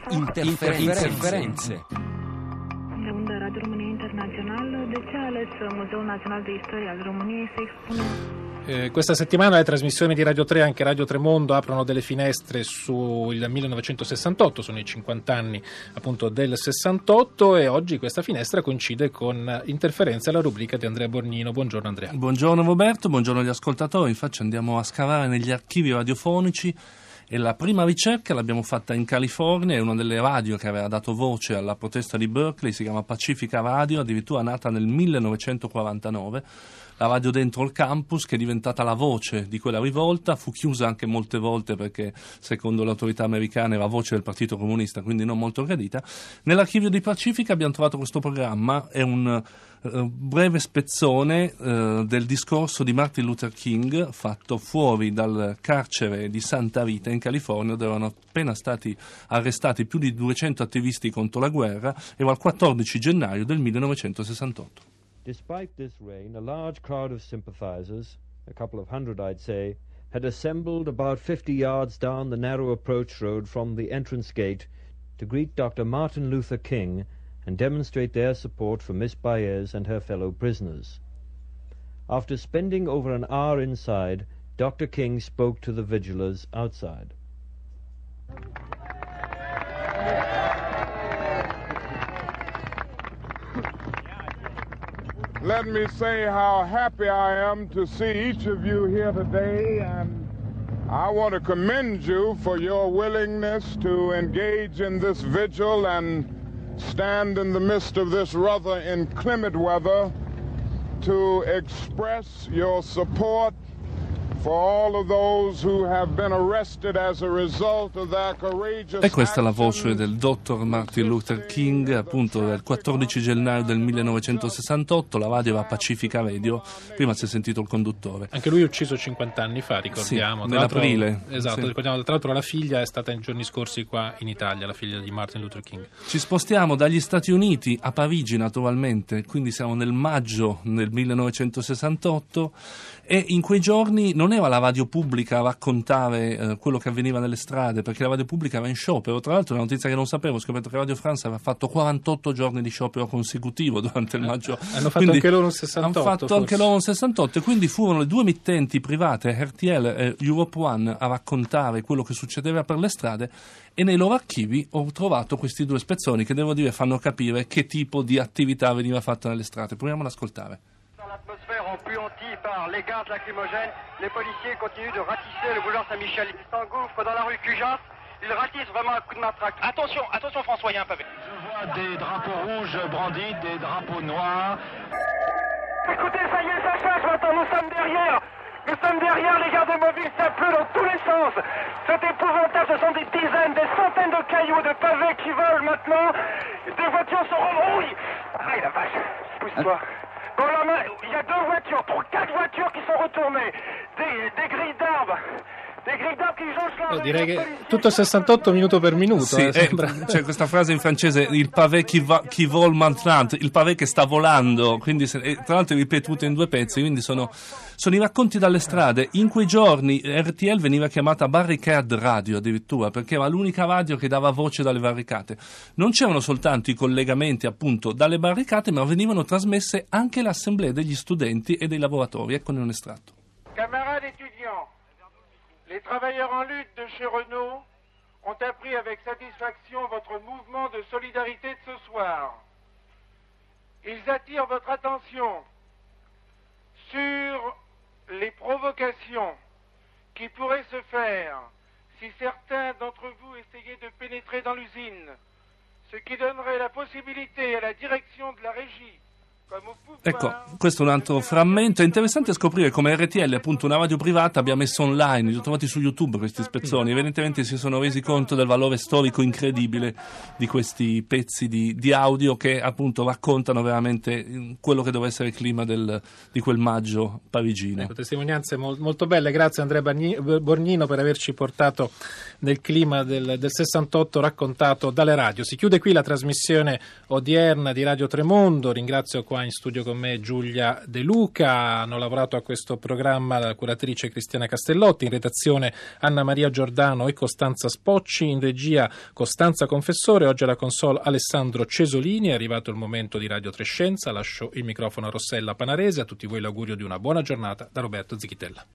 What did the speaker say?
Interferenze. De unde Radio România Internațională, de ce a ales Muzeul Național de Istoria al României să expune? Questa settimana le trasmissioni di Radio 3, anche Radio Tremondo, aprono delle finestre sul 1968, sono i 50 anni appunto del 68, e oggi questa finestra coincide con Interferenze, la rubrica di Andrea Borgnino. Buongiorno Andrea. Buongiorno Roberto, buongiorno agli ascoltatori. Infatti andiamo a scavare negli archivi radiofonici e la prima ricerca l'abbiamo fatta in California. È una delle radio che aveva dato voce alla protesta di Berkeley, si chiama Pacifica Radio, addirittura nata nel 1949. La radio dentro il campus, che è diventata la voce di quella rivolta, fu chiusa anche molte volte perché secondo le autorità americane era voce del Partito Comunista, quindi non molto gradita. Nell'archivio di Pacifica abbiamo trovato questo programma, è un breve spezzone del discorso di Martin Luther King fatto fuori dal carcere di Santa Rita in California, dove erano appena stati arrestati più di 200 attivisti contro la guerra. Era il 14 gennaio del 1968. Despite this rain, a large crowd of sympathizers, a couple of hundred I'd say, had assembled about 50 yards down the narrow approach road from the entrance gate to greet Dr. Martin Luther King and demonstrate their support for Miss Baez and her fellow prisoners. After spending over an hour inside, Dr. King spoke to the vigilers outside. Let me say how happy I am to see each of you here today, and I want to commend you for your willingness to engage in this vigil and stand in the midst of this rather inclement weather to express your support for all of those who have been arrested as a result of their courageous E questa è la voce del dottor Martin Luther King, appunto del 14 gennaio del 1968, la radio era Pacifica Radio, prima si è sentito il conduttore. Anche lui ucciso 50 anni fa, ricordiamo. Sì, nell'aprile. Esatto, sì. Ricordiamo, tra l'altro la figlia è stata in giorni scorsi qua in Italia, la figlia di Martin Luther King. Ci spostiamo dagli Stati Uniti a Parigi naturalmente, quindi siamo nel maggio del 1968 e in quei giorni non era la radio pubblica a raccontare quello che avveniva nelle strade, perché la radio pubblica era in sciopero. Tra l'altro è una notizia che non sapevo, ho scoperto che Radio France aveva fatto 48 giorni di sciopero consecutivo durante il maggio. Hanno fatto anche loro un 68. Hanno fatto forse. anche loro un 68 e quindi furono le due emittenti private, RTL e Europe One, a raccontare quello che succedeva per le strade, e nei loro archivi ho trovato questi due spezzoni che devo dire fanno capire che tipo di attività veniva fatta nelle strade. Proviamo ad ascoltare. L'atmosphère empuantie par les gaz lacrymogènes, les policiers continuent de ratisser le boulevard Saint-Michel. Ils s'engouffrent dans la rue Cujas, ils ratissent vraiment à coups de matraque. Attention, attention François, il y a un pavé. Je vois des drapeaux rouges brandis, des drapeaux noirs. Écoutez, ça y est, ça change maintenant, nous sommes derrière. Nous sommes derrière, les gardes mobiles, ça pleut dans tous les sens. C'est épouvantable, ce sont des dizaines, des centaines de cailloux, de pavés qui volent maintenant. Des voitures sont rebrouillées. Ah la vache, pousse-toi. Dans la main, il y a 4 voitures qui sont retournées, des grilles d'arbres che jonchent. Direi che tutto 68 minuto per minuto. Sì, c'è questa frase in francese, il pavé qui vole maintenant, il pavé che sta volando, quindi tra l'altro è ripetuto in due pezzi, quindi sono i racconti dalle strade. In quei giorni RTL veniva chiamata Barricade Radio addirittura, perché era l'unica radio che dava voce dalle barricate. Non c'erano soltanto i collegamenti appunto dalle barricate, ma venivano trasmesse anche le assemblee degli studenti e dei lavoratori. Eccone un estratto. Camarades étudiants, les travailleurs en lutte de chez Renault ont appris avec satisfaction votre mouvement de solidarité de ce soir. Ils attirent votre attention sur les provocations qui pourraient se faire si certains d'entre vous essayaient de pénétrer dans l'usine, ce qui donnerait la possibilité à la direction de la régie. Ecco, questo è un altro frammento. È interessante scoprire come RTL, appunto una radio privata, abbia messo online, li ho trovati su YouTube questi spezzoni. Evidentemente si sono resi conto del valore storico incredibile di questi pezzi di audio che appunto raccontano veramente quello che doveva essere il clima di quel maggio parigino. Ecco, testimonianze molto belle. Grazie Andrea Borgnino per averci portato nel clima del 68 raccontato dalle radio. Si chiude qui la trasmissione odierna di Radio Tremondo. Ringrazio qua qua in studio con me Giulia De Luca. Hanno lavorato a questo programma la curatrice Cristiana Castellotti, in redazione Anna Maria Giordano e Costanza Spocci, in regia Costanza Confessore. Oggi alla console Alessandro Cesolini. È arrivato il momento di Radio Trescenza. Lascio il microfono a Rossella Panarese. A tutti voi l'augurio di una buona giornata da Roberto Zichitella.